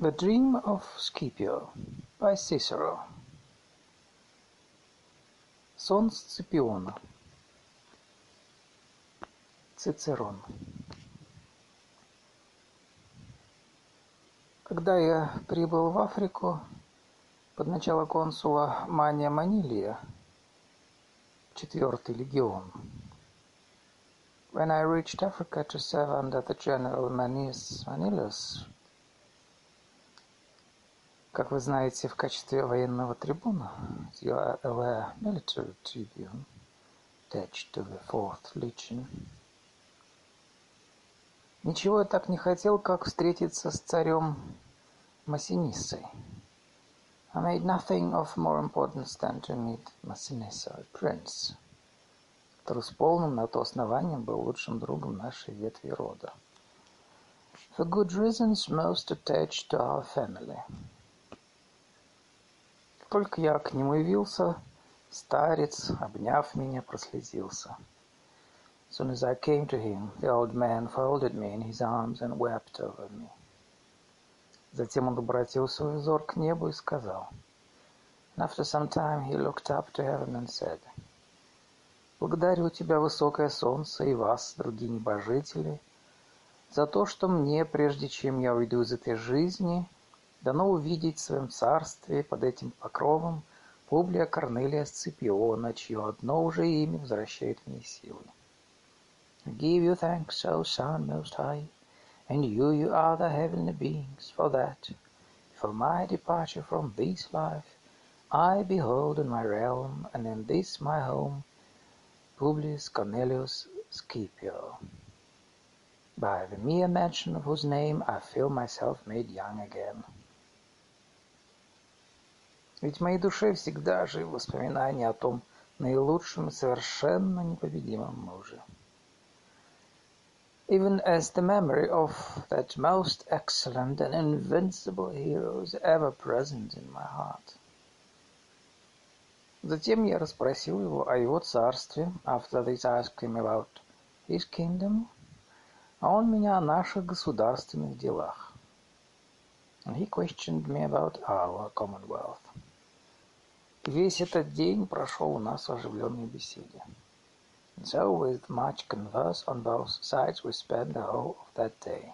The Dream of Scipio by Cicero. Сон Сципиона. Цицерон. Когда я прибыл в Африку под начало консула Мания Манилия, 4-й легион, when I reached Africa to serve under the General Manius Manilius, как вы знаете, в качестве военного трибуна, you are aware, military tribune, attached to the 4th Legion, ничего я так не хотел, как встретиться с царем Массиниссой. I made nothing of more importance than to meet Massinissa, prince, который с полным на то основанием был лучшим другом нашей ветви рода. For good reasons most attached to our family. Как только я к нему явился, старец, обняв меня, прослезился. As soon as I came to him, the old man folded me in his arms and wept over me. Затем он обратил свой взор к небу и сказал. And after some time he looked up to heaven and said, «Благодарю тебя, высокое солнце, и вас, другие небожители, за то, что мне, прежде чем я уйду из этой жизни, дано увидеть в своем царстве под этим покровом Публия Корнелия Сципиона, чье одно уже имя возвращает мне силы. I give you thanks, O Son Most High, and you are the heavenly beings, for that, for my departure from this life, I behold in my realm, and in this my home, Publius Cornelius Scipio, by the mere mention of whose name I feel myself made young again». Ведь в моей душе всегда живы воспоминания о том наилучшем и совершенно непобедимом муже. Even as the memory of that most excellent and invincible hero is ever present in my heart. Затем я расспросил его о его царстве. After this I asked him about his kingdom. А он меня о наших государственных делах. And he questioned me about our commonwealth. И весь этот день прошел у нас в оживленной беседе. And so, with much converse on both sides, we spent the whole of that day.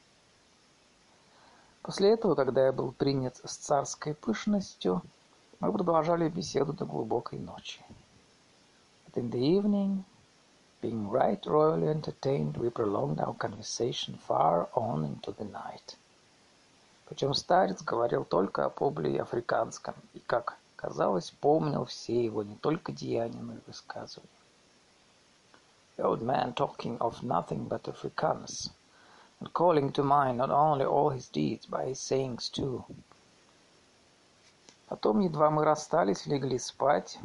После этого, когда я был принят с царской пышностью, мы продолжали беседу до глубокой ночи. But in the evening, being right royally entertained, we prolonged our conversation far on into the night. Причем старец говорил только о Публии Африканском и, как казалось, помнил все его не только деяния, но и высказывания. The old man talking of nothing but Africanus, and calling to mind not only all his deeds, but his sayings too. Потом, едва мы расстались, легли спать.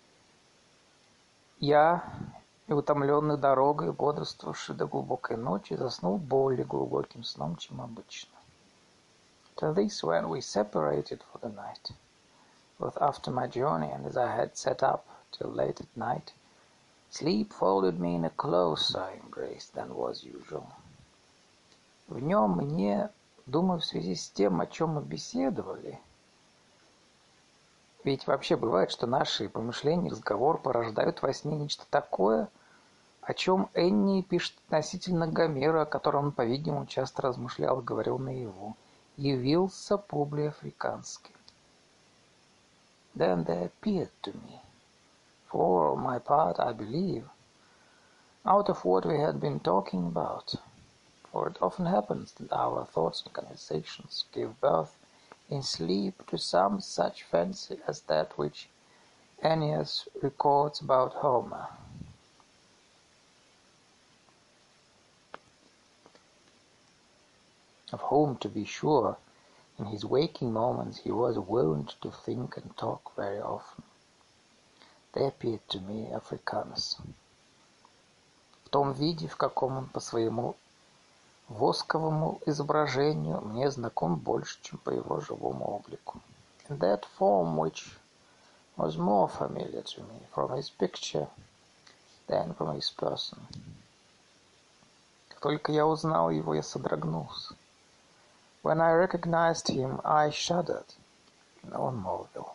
Я, и утомленный дорогой, бодрствовавший до глубокой ночи, заснул более глубоким сном, чем обычно. To this, when we separated for the night, both after my journey and as I had sat up till late at night, sleep folded me in a closer embrace than was usual. В нем мне, думаю, в связи с тем, о чем мы беседовали, ведь вообще бывает, что наши помышления и разговор порождают во сне нечто такое, о чем Энни пишет относительно Гомера, о котором он, по-видимому, часто размышлял и говорил наяву. Явился Публий Африканский. Then there appeared to me, for my part, I believe, out of what we had been talking about, for it often happens that our thoughts and conversations give birth in sleep to some such fancy as that which Ennius records about Homer. Of whom, to be sure, in his waking moments he was wont to think and talk very often. They appeared to me Africanus. В том виде, в каком он по своему восковому изображению мне знаком больше, чем по его живому облику. In that form which was more familiar to me from his picture than from his person. Как только я узнал его, я содрогнулся. When I recognized him, I shuddered. Он молвил.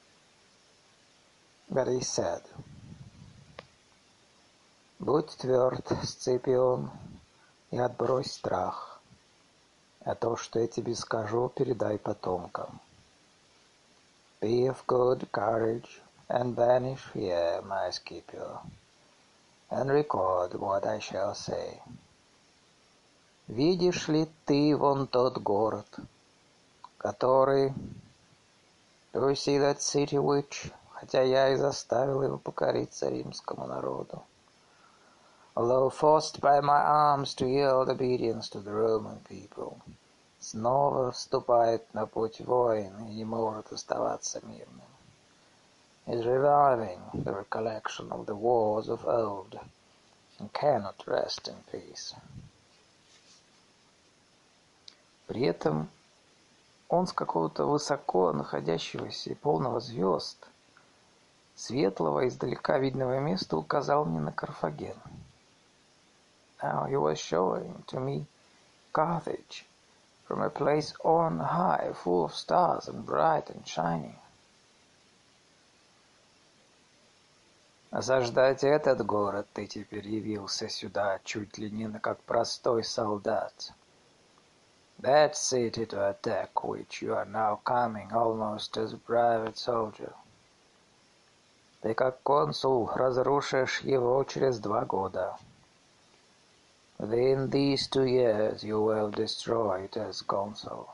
But he said, «Будь тверд, Сципион, и отбрось страх, а то, что я тебе скажу, передай потомкам. Be of good courage, and banish fear, my Scipio, and record what I shall say. Видишь ли ты вон тот город, который... Do you see that city which, хотя я и заставил его покориться римскому народу, although forced by my arms to yield obedience to the Roman people, снова вступает на путь войн и не может оставаться мирным, is reviving the recollection of the wars of old and cannot rest in peace». При этом он с какого-то высоко находящегося и полного звезд, светлого, издалека видного места указал мне на Карфаген. Now he was showing to me Carthage from a place on high, full of stars and bright and shining. Осаждать этот город ты теперь явился сюда чуть ли не как простой солдат. That city to attack which you are now coming almost as a private soldier. Ты как консул разрушишь его через 2 года. Within these 2 years you will destroy it as consul.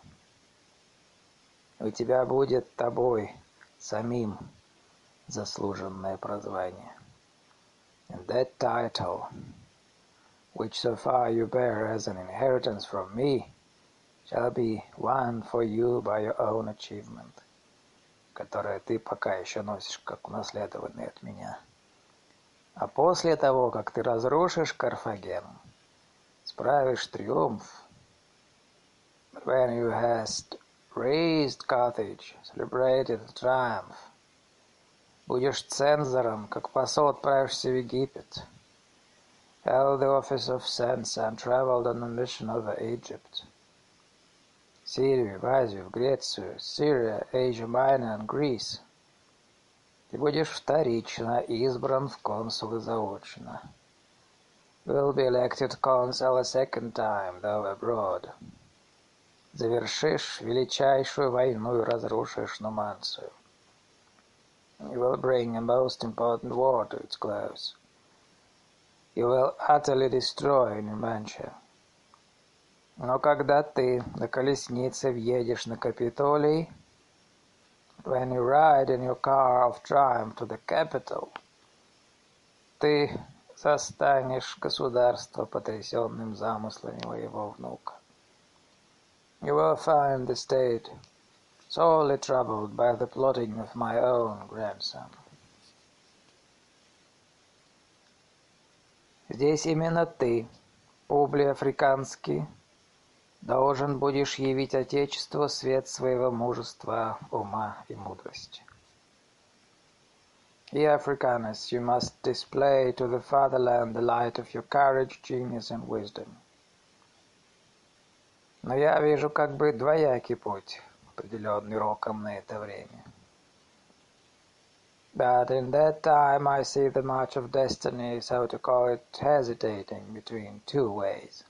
У тебя будет тобой самим заслуженное прозвание. And that title, which so far you bear as an inheritance from me, shall be won for you by your own achievement, которое ты пока еще носишь как унаследованное от меня. А после того, как ты разрушишь Карфаген, справишь триумф, when you hast raised Carthage, celebrated the triumph, будешь цензором, как посол отправишься в Египет, held the office of censor and traveled on a mission over Egypt, Сирию, в Азию, в Грецию, Syria, Asia Minor and Greece. Ты будешь вторично избран в консулы заочно. Will be elected consul a second time, though abroad. Завершишь величайшую войну и разрушишь Нуманцию. You will bring a most important war to its close. You will utterly destroy Numantia. Но когда ты на колеснице въедешь на Капитолий, when you ride in your car of triumph to the capital, ты застанешь государство потрясенным замыслами моего внука. You will find the state sorely troubled by the plotting of my own grandson. Здесь именно ты, Публий Африканский, должен будешь явить Отечеству свет своего мужества, ума и мудрости. Here, Africanus, you must display to the fatherland the light of your courage, genius and wisdom. Но я вижу как бы двоякий путь, определенный роком на это время. But in that time I see the march of destiny, so to call it, hesitating between 2 ways.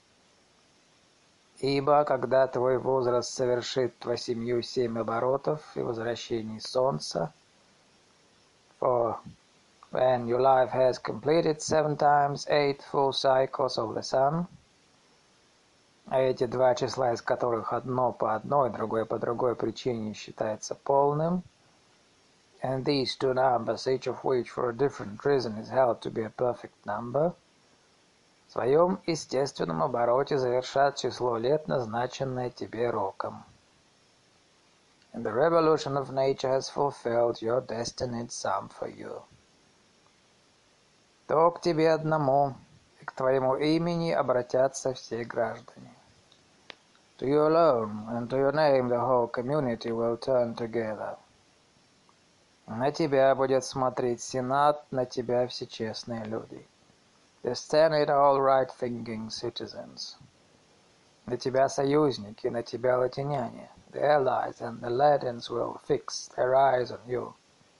Ибо, когда твой возраст совершит 7 оборотов и возвращений солнца, for when your life has completed 7 times 8 full cycles of the sun, а эти 2 числа, из которых одно по одной, другое по другой причине считается полным, and these 2 numbers, each of which for a different reason is held to be a perfect number, в своем естественном обороте завершат число лет, назначенное тебе роком. And the revolution of nature has fulfilled your destined sum for you. То к тебе одному и к твоему имени обратятся все граждане. To you alone and to your name the whole community will turn together. На тебя будет смотреть Сенат, на тебя все честные люди. The Senate, all right-thinking citizens. На тебя союзники, на тебя латиняне. The allies and the Latins will fix their eyes on you.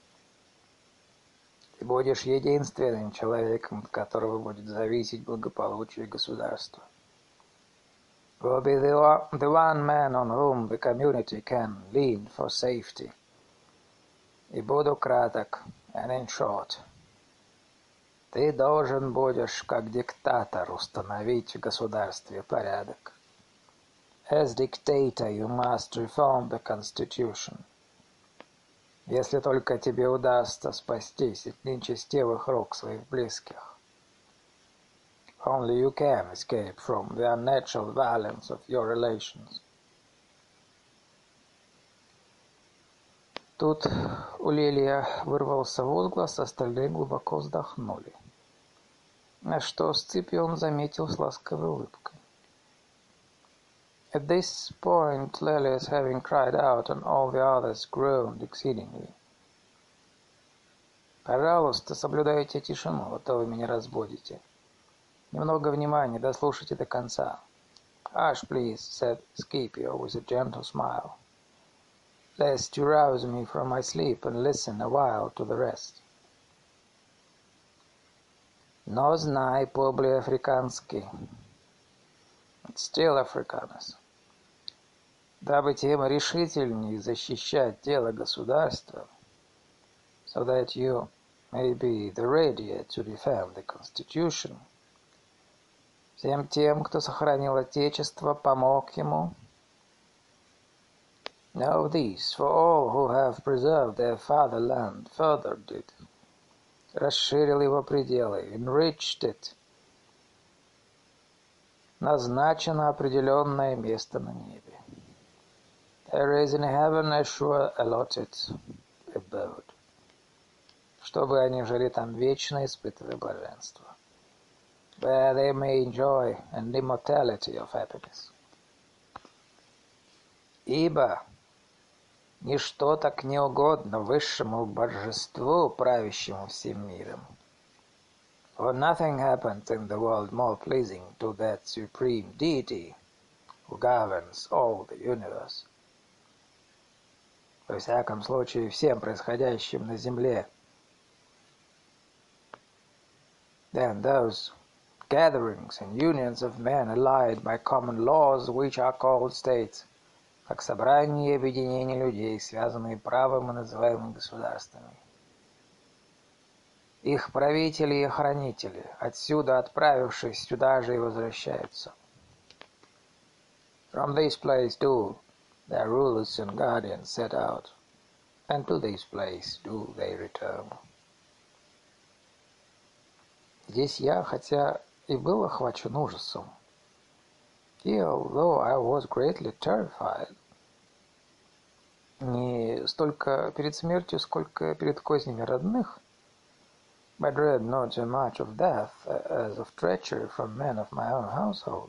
Ты будешь единственным человеком, от которого будет зависеть благополучие государства. You will be the one man on whom the community can lean for safety. И буду краток, and in short. Ты должен будешь, как диктатор, установить в государстве порядок. As dictator, you must reform the constitution. Если только тебе удастся спастись от нечестивых рук своих близких. Only you can escape from the unnatural violence of your relations. Тут у Лелия вырвался возглас, остальные глубоко вздохнули. На что Сципион заметил с ласковой улыбкой. At this point, Lelius, having cried out, and all the others groaned exceedingly. «Пожалуйста, соблюдайте тишину, а то вы меня разбудите. Немного внимания, дослушайте до конца». «Hush, please», said Scipio with a gentle smile, «lest you rouse me from my sleep, and listen a while to the rest». «Но знай, Publio Africanski», still Africanus, дабы тем решительнее защищать дело государства, so that you may be the readier to defend the Constitution, всем тем, кто сохранил Отечество, помог ему. Know this, for all who have preserved their fatherland, furthered it, расширил его пределы, enriched it, назначено определенное место на небе. There is in heaven a sure allotted abode, чтобы они жили там вечно, испытывая блаженство. Where they may enjoy an immortality of happiness. Ибо ничто так не угодно высшему божеству, правящему всем миром. For nothing happens in the world more pleasing to that supreme deity who governs all the universe. Во всяком случае, всем происходящим на земле, than those gatherings and unions of men allied by common laws, which are called states, как собрание и объединение людей, связанные правом и называемыми государствами. Их правители и хранители, отсюда отправившись, сюда же и возвращаются. From this place do their rulers and guardians set out, and to this place do they return. Здесь я, хотя и был охвачен ужасом, here, although I was greatly terrified, не столько перед смертью, сколько перед кознями родных, I dread not so much of death as of treachery from men of my own household,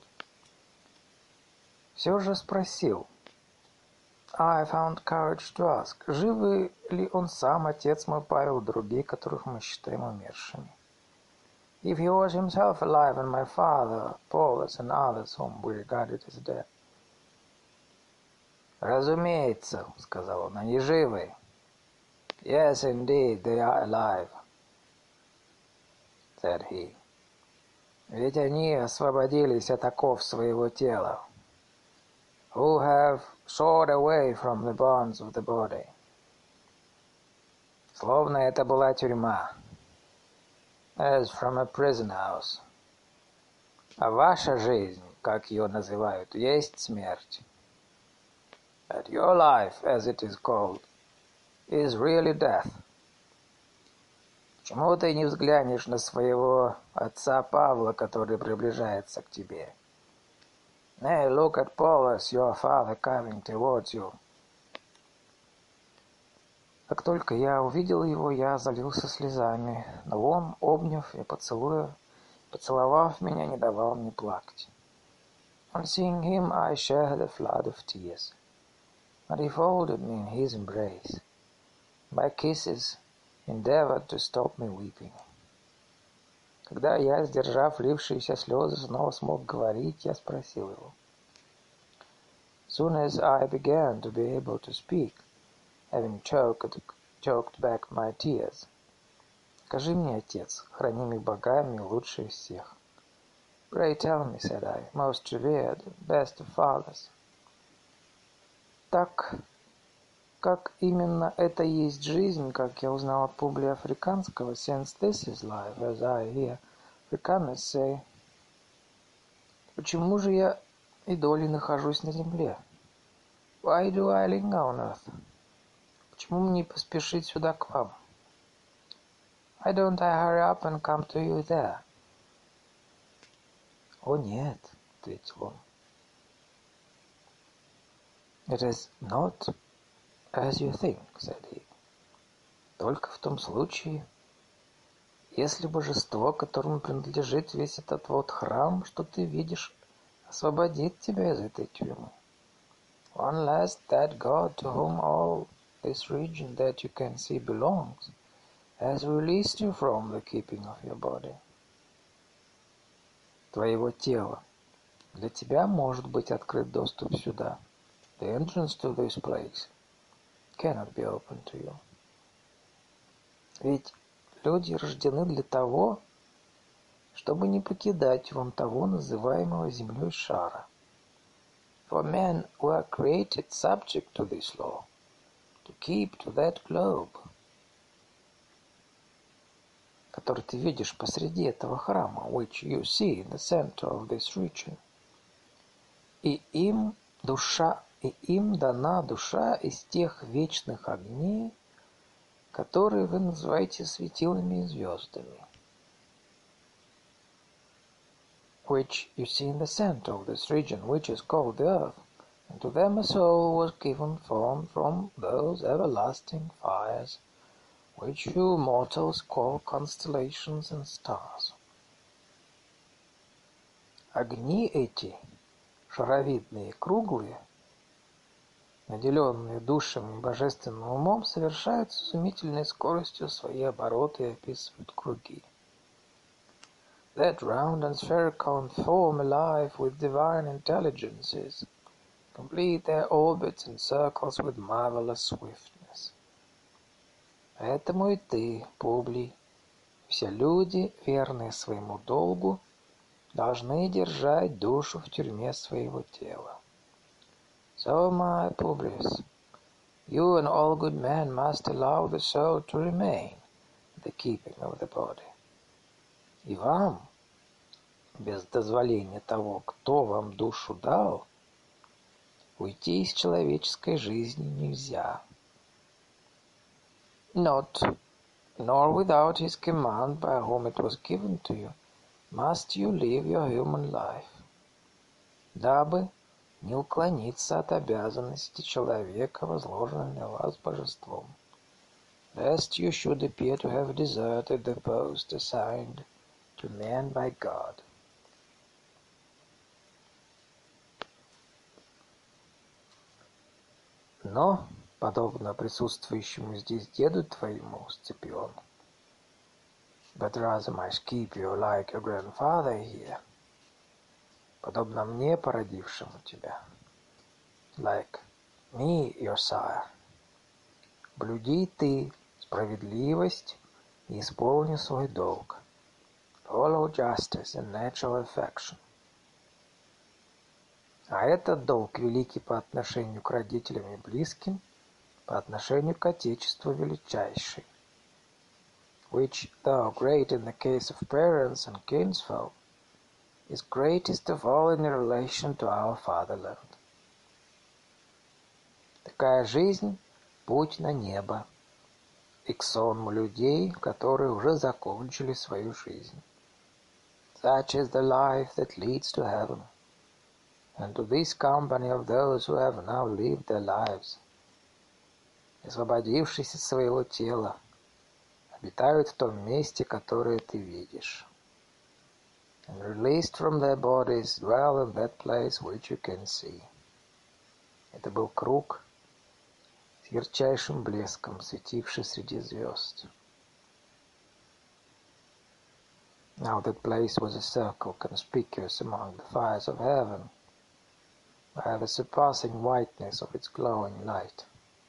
все же спросил, I found courage to ask, живы ли он сам, отец мой Павел, другие, которых мы считаем умершими? If he was himself alive, and my father, Paulus, and others whom we regarded as dead. Разумеется, сказал он, они живы. Yes, indeed, they are alive, said he. Ведь они освободились от оков своего тела, who have soared away from the bonds of the body. Словно это была тюрьма, as from a prison house. А ваша жизнь, как ее называют, есть смерть. But your life, as it is called, is really death. Почему ты не взглянешь на своего отца Павла, который приближается к тебе? Nay, look at Paulus, your father, coming towards you. Как только я увидел его, я залился слезами, но он, обняв и поцеловав меня, не давал мне плакать. On seeing him, I shed a flood of tears, but he folded me in his embrace. By kisses, endeavored to stop me weeping. Когда я, сдержав лившиеся слезы, снова смог говорить, я спросил его. soon as I began to be able to speak, having choked back my tears. Скажи мне, отец, хранимый богами, лучший из всех. Pray tell me, said I, most revered, best of fathers. Так как именно это и есть жизнь, как я узнал от Публия Африканского, since this is life, as I hear Africaners say, почему же я и долей нахожусь на земле? Why do I linger on earth? Почему мне не поспешить сюда к вам? Why don't I hurry up and come to you there? О нет, ответил он. It is not as you think, said he. Только в том случае, если божество, которому принадлежит весь этот вот храм, что ты видишь, освободит тебя из этой тюрьмы. Unless that God to whom all this region that you can see belongs has released you from the keeping of your body. Твоего тела. Для тебя может быть открыт доступ сюда. The entrance to this place cannot be open to you. Ведь люди рождены для того, чтобы не покидать вон того, называемого землей шара. For men were created subject to this law, to keep to that globe, который ты видишь посреди этого храма, which you see in the center of this region. И им дана душа из тех вечных огней, которые вы называете светилами и звездами. Which you see in the center of this region, which is called the earth, and to them a soul was given formed from those everlasting fires, which you mortals call constellations and stars. Огни эти, шаровидные, круглые, наделенные душами и божественным умом, совершают с изумительной скоростью свои обороты и описывают круги. That round and spherical and form alive with divine intelligences, complete their orbits and circles with marvelous swiftness. Поэтому и ты, Публий, все люди, верные своему долгу, должны держать душу в тюрьме своего тела. So, my Publius, you and all good men must allow the soul to remain in the keeping of the body. И вам, без дозволения того, кто вам душу дал, уйти из человеческой жизни нельзя. Not, nor without his command by whom it was given to you, must you live your human life, дабы не уклониться от обязанности человека, возложенной на вас божеством, lest you should appear to have deserted the post assigned to man by God. Но, подобно присутствующему здесь деду твоему, Сципион, but rather my Scipio, like your grandfather here, подобно мне, породившему тебя, like me, your sire, блюди ты справедливость и исполни свой долг, follow justice and natural affection. А этот долг великий по отношению к родителям и близким, по отношению к Отечеству величайший, which, though great in the case of parents and kinsfolk, is greatest of all in relation to our fatherland. Такая жизнь — путь на небо, и к сонму людей, которые уже закончили свою жизнь. Such is the life that leads to heaven, and to this company of those who have now lived their lives, освободившись из своего тела, обитают в том месте, которое ты видишь. And released from their bodies, dwell in that place which you can see. Это был круг с ярчайшим блеском, светивший среди звезд. Now that place was a circle conspicuous among the fires of heaven. by the surpassing whiteness of its glowing light,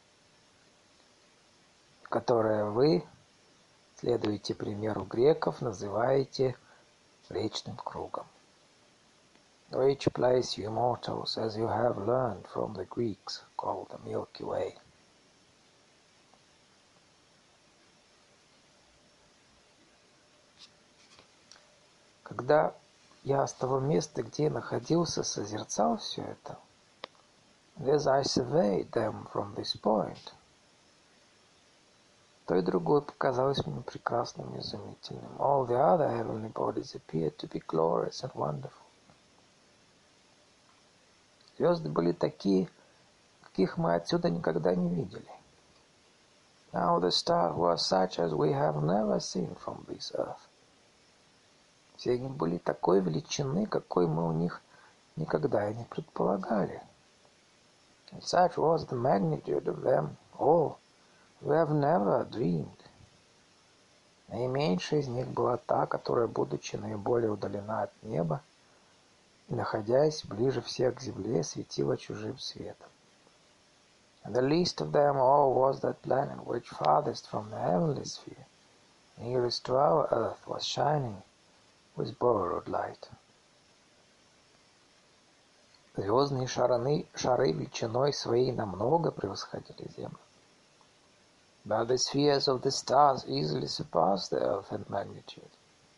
которое вы, следуете примеру греков, называете Млечным кругом, which place you mortals, as you have learned from the Greeks, call the Milky Way. Когда я с того места, где я находился, созерцал все это, and as I surveyed them from this point, то и другое показалось мне прекрасным и изумительным. All the other heavenly bodies appeared to be glorious and wonderful. Звезды были такие, каких мы отсюда никогда не видели. Now the stars were such as we have never seen from this earth. Все они были такой величины, какой мы у них никогда и не предполагали. And such was the magnitude of them all, we have never dreamed. Наименьшая из них была та, которая, будучи наиболее удалена от неба и находясь ближе всех к земле, светила чужим светом. And the least of them all was that planet which farthest from the heavenly sphere, nearest to our earth, was shining with borrowed light. Звездные шары величиной своей намного превосходили Землю. But the spheres of the stars easily surpassed the earth in magnitude.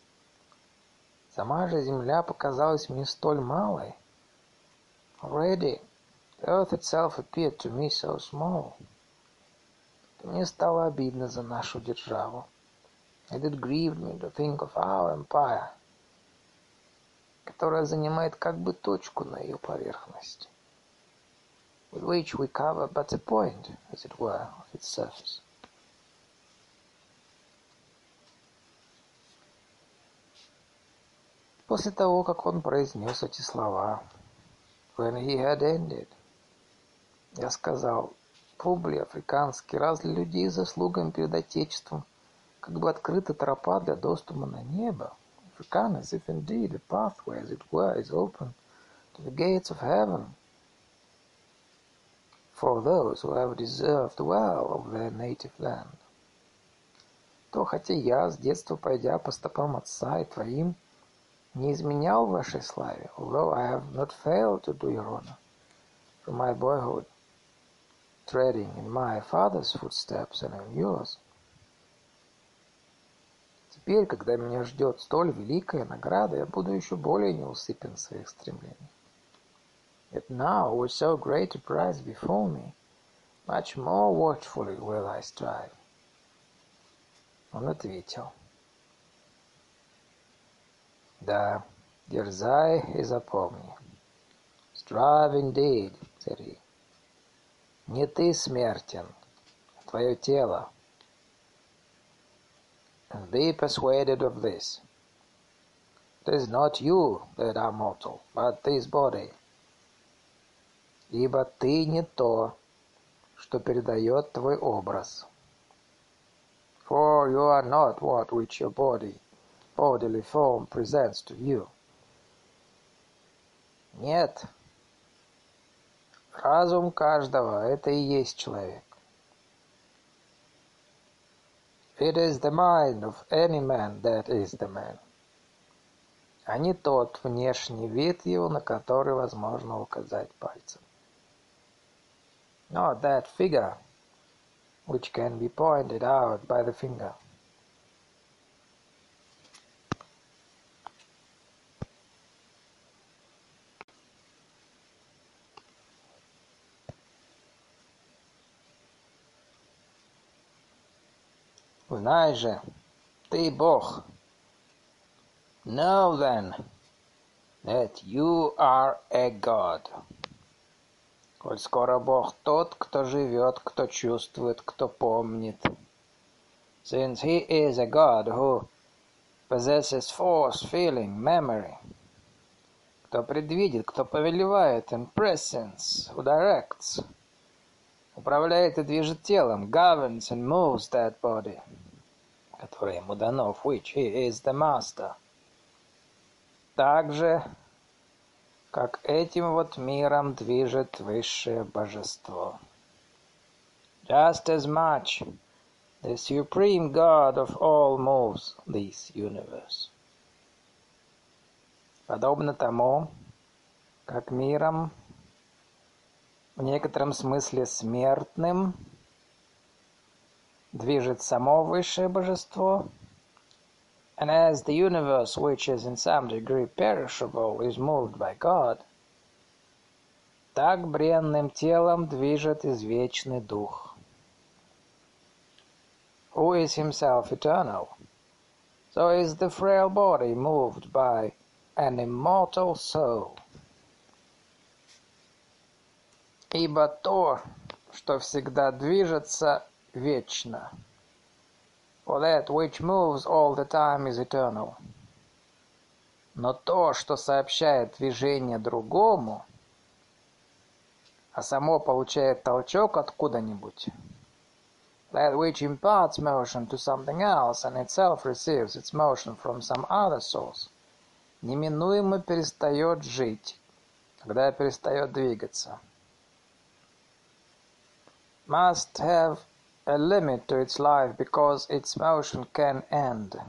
Сама же Земля показалась мне столь малой. Already, the earth itself appeared to me so small. Мне стало обидно за нашу державу. And it grieved me to think of our empire, которая занимает как бы точку на ее поверхности, with which we cover but a point, as it were, of its surface. После того, как он произнес эти слова, when he had ended, я сказал: Публий африканский, раз для людей с заслугами перед Отечеством как бы открыта тропа для доступа на небо, Africanus, if indeed a pathway, as it were, is open to the gates of heaven for those who have deserved well of their native land, то хотя я, с детства пойдя по стопам отца и твоим, не изменял вашей славе, although I have not failed to do your honor, from my boyhood, treading in my father's footsteps and in yours. Теперь, когда меня ждет столь великая награда, я буду еще более неусыпен в своих стремлениях. Yet now, with so great a prize before me, much more watchfully will I strive. Он ответил: Да, дерзай и запомни. Strive indeed, said he. Не ты смертен, а твое тело. And be persuaded of this. It is not you that are mortal, but this body. Ибо ты не то, что передает твой образ. For you are not what which your bodily form presents to you. Нет. Разум каждого — это и есть человек. It is the mind of any man that is the man. А не тот внешний вид его, на который возможно указать пальцем. Not that figure which can be pointed out by the finger. Знай же, ты Бог. Know then that you are a God. Коль скоро Бог тот, кто живет, кто чувствует, кто помнит. Since he is a God who possesses force, feeling, memory. Кто предвидит, кто повелевает, and presence, who directs, управляет и движет телом, governs and moves that body, которое ему дано, of which he is the master. Также как этим вот миром движет высшее божество. Just as much the supreme God of all moves this universe. Подобно тому, как миром, в некотором смысле смертным, движет само высшее божество, and as the universe, which is in some degree perishable, is moved by God, так бренным телом движет извечный дух, who is himself eternal. So is the frail body moved by an immortal soul. Ибо то, что всегда движется, вечно. For that which moves all the time is eternal. Но то, что сообщает движение другому, а само получает толчок откуда-нибудь, that which imparts motion to something else and itself receives its motion from some other source, неминуемо перестает жить, когда перестает двигаться. Must have a limit to its life because its motion can end.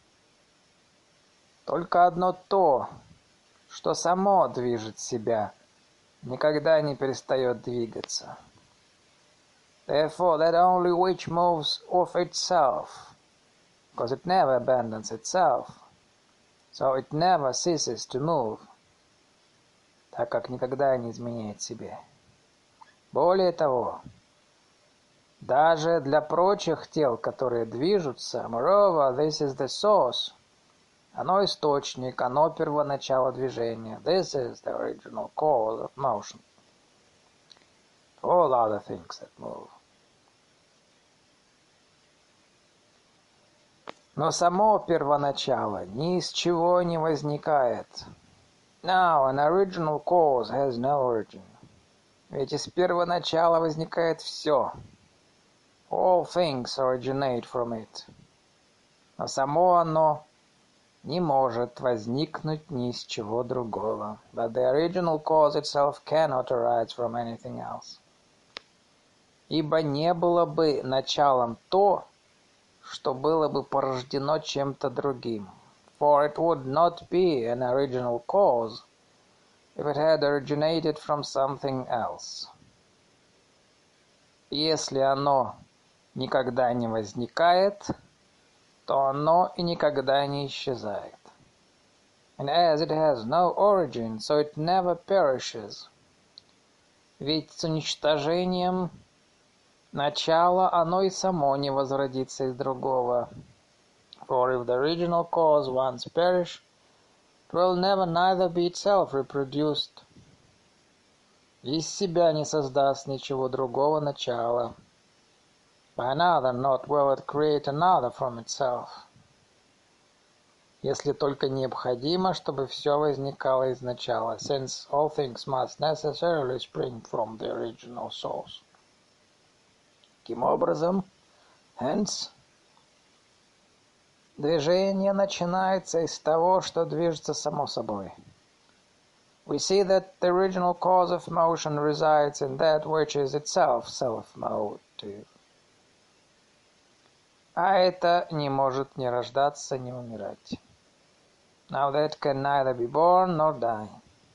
Только одно то, что само движет себя, никогда не перестает двигаться. Therefore, that only which moves of itself, because it never abandons itself, so it never ceases to move, так как никогда не изменяет себе. Более того, даже для прочих тел, которые движутся, moreover, this is the source, оно источник, оно первоначало движения. This is the original cause of motion. All other things that move. Но само первоначало ни из чего не возникает. Now, an original cause has no origin. Ведь из первоначала возникает все. All things originate from it. Но само оно не может возникнуть ни из чего другого. But the original cause itself cannot arise from anything else. Ибо не было бы началом то, что было бы порождено чем-то другим. For it would not be an original cause if it had originated from something else. Если оно никогда не возникает, то оно и никогда не исчезает. And as it has no origin, so it never perishes. Ведь с уничтожением начала оно и само не возродится из другого. For if the original cause once perish, it will never neither be itself reproduced. Из себя не создаст ничего другого начала. By another not will it create another from itself. Если только необходимо, чтобы все возникало из начала, since all things must necessarily spring from the original source. Таким образом, hence, движение начинается из того, что движется само собой. We see that the original cause of motion resides in that which is itself self-motive. А это не может ни рождаться, ни умирать. Now that can neither be born nor die.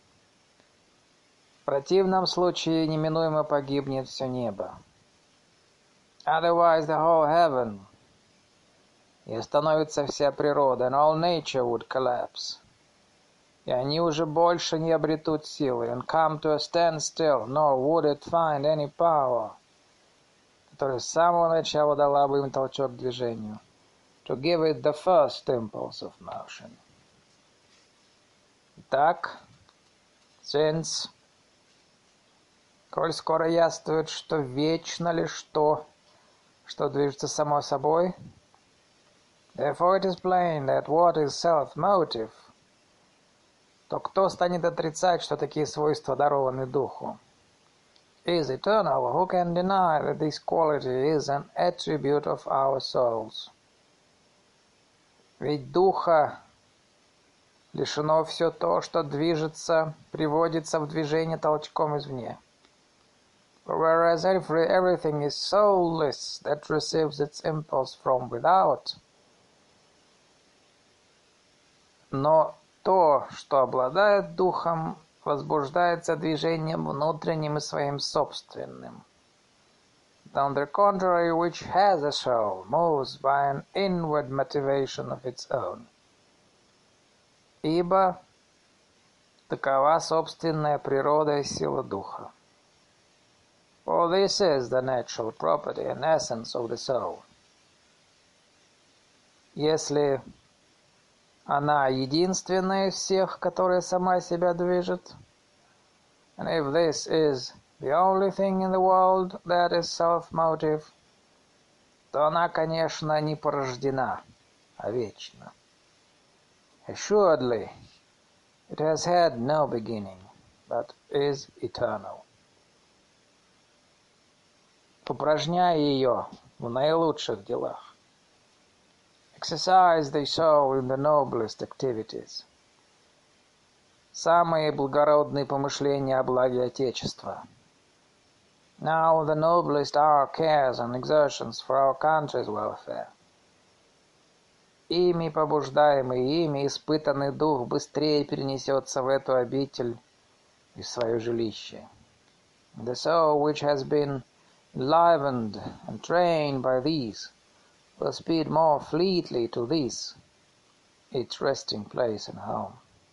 В противном случае неминуемо погибнет все небо. Otherwise the whole heaven, и остановится вся природа, and all nature would collapse. И они уже больше не обретут силы, and come to a standstill, nor would it find any power, которая с самого начала дала бы им толчок к движению, to give it the first impulse of motion. Итак, since, коль скоро яствует, что вечно лишь то, что движется само собой, therefore it is plain that what is self-motive, то кто станет отрицать, что такие свойства дарованы духу? Is eternal, who can deny that this quality is an attribute of our souls? Ведь духа Лишено все то, что движется, приводится в движение толчком извне. Whereas everything is soulless that receives its impulse from without. Но то, что обладает духом, возбуждается движением внутренним и своим собственным. On the contrary, which has a soul, moves by an inward motivation of its own. Ибо такова собственная природа и сила духа. For this is the natural property and essence of the soul. Если она единственная из всех, которая сама себя движет, and if this is the only thing in the world that is self-motive, то она, конечно, не порождена, а вечна. Assuredly, it has had no beginning, but is eternal. Упражняй ее в наилучших делах. Exercise the soul in the noblest activities. Самые благородные помышления о благе Отечества. Now the noblest are our cares and exertions for our country's welfare. Ими побуждаемый, ими испытанный дух быстрее перенесется в эту обитель и в свое жилище. The soul which has been enlivened and trained by these will speed more fleetly to this, its resting place and home.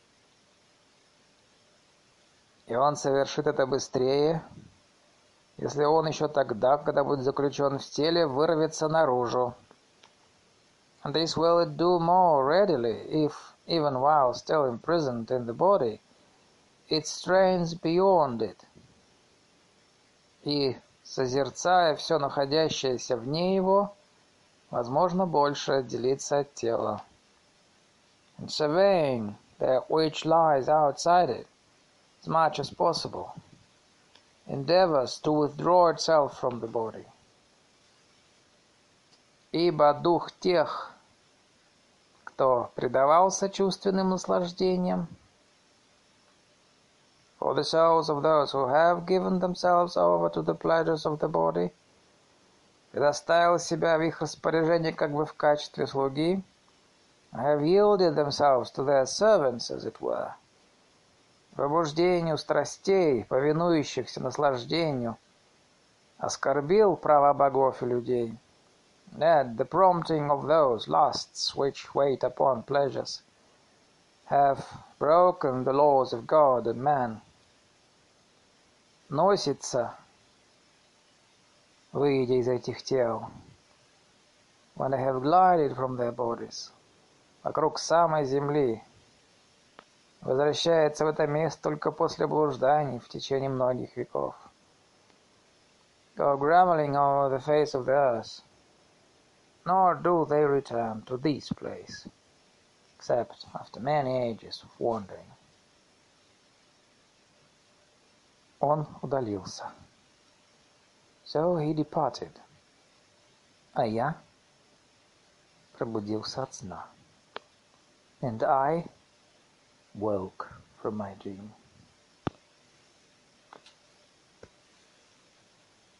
И он совершит это быстрее, если он еще тогда, когда будет заключен в теле, вырвется наружу. And this will it do more readily, if, even while still imprisoned in the body, it strains beyond it. И, созерцая все находящееся вне его, возможно, больше отделиться от тела. And surveying that which lies outside it, as much as possible, endeavors to withdraw itself from the body. Ибо дух тех, кто предавался чувственным наслаждениям, for the souls of those who have given themselves over to the pleasures of the body, предоставил себя в их распоряжение как бы в качестве слуги, have yielded themselves to their servants, as it were, побуждению страстей, повинующихся наслаждению, оскорбил права богов и людей, that the prompting of those lusts which wait upon pleasures have broken the laws of God and man, носится, выйдя из этих тел, when they have glided from their bodies, вокруг самой земли, возвращается в это место только после блужданий в течение многих веков. Go groveling over the face of the earth, nor do they return to this place, except after many ages of wandering. Он удалился. So he departed. А я пробудился от сна. And I woke from my dream.